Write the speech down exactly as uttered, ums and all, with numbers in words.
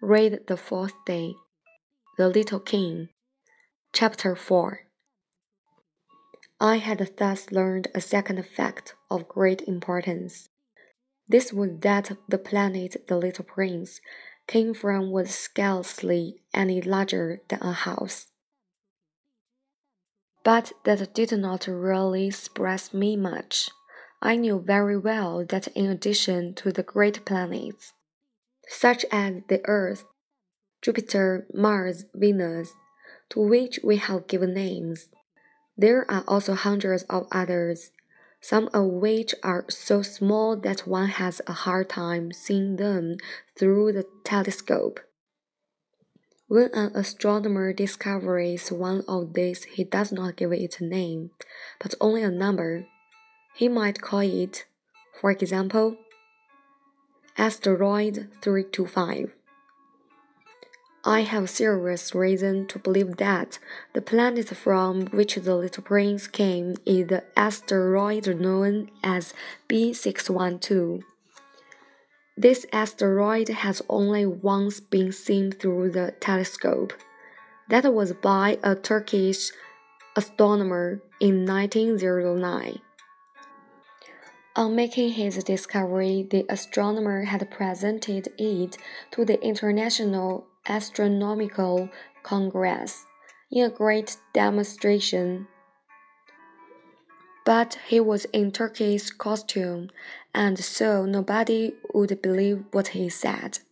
Read the fourth day. The Little King. Chapter four. I had thus learned a second fact of great importance. This was that the planet the little prince came from was scarcely any larger than a house. But that did not really surprise me much. I knew very well that in addition to the great planets, such as the Earth, Jupiter, Mars, Venus, to which we have given names, there are also hundreds of others, some of which are so small that one has a hard time seeing them through the telescope. When an astronomer discovers one of these, he does not give it a name, but only a number. He might call it, for example, Asteroid three two five. I have serious reason to believe that the planet from which the little prince came is the asteroid known as B six one two. This asteroid has only once been seen through the telescope. That was by a Turkish astronomer in nineteen oh nine. On making his discovery, the astronomer had presented it to the International Astronomical Congress in a great demonstration. But he was in Turkish costume, and so nobody would believe what he said.